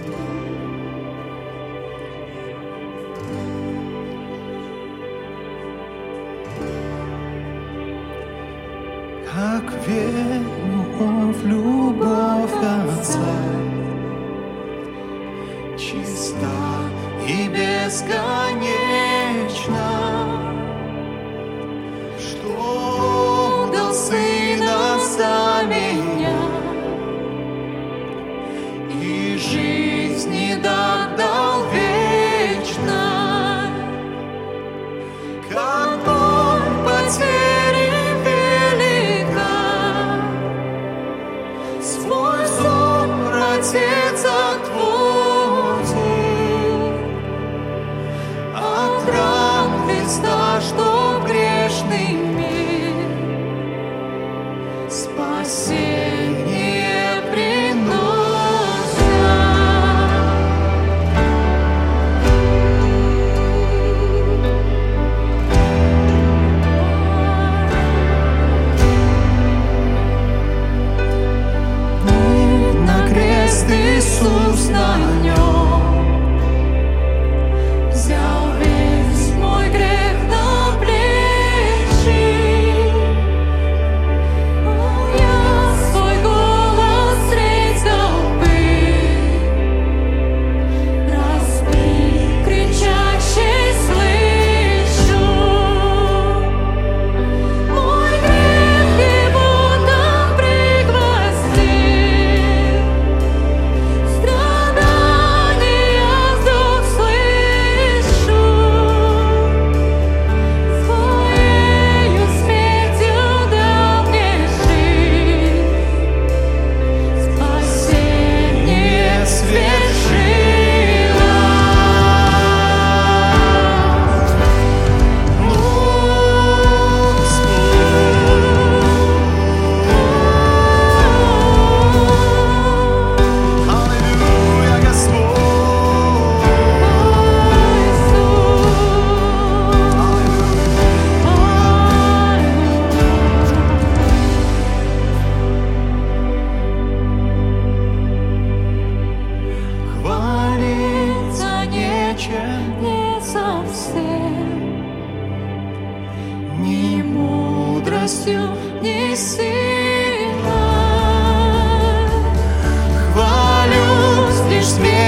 Как верю в любовь Отца, чиста и бесконечна, что дал Сына за меня и жизни дал вечной, как боль потери велика, свой взор Отец отводит от ран Христа, что грешный мир спасение приносит. На крест Иисус на нем взял весь мой грех на плечи. Я свой голос средь толпы разбит кричащий слышу. Мой грех его там пригвоздил, страдания вдруг слышу. Своею смертью дал мне жизнь, спасение свершилось. Аллилуйя, Господь! Хвалиться нечем, не совсем, ни мудростью, ни силой. Хвалюсь лишь смертью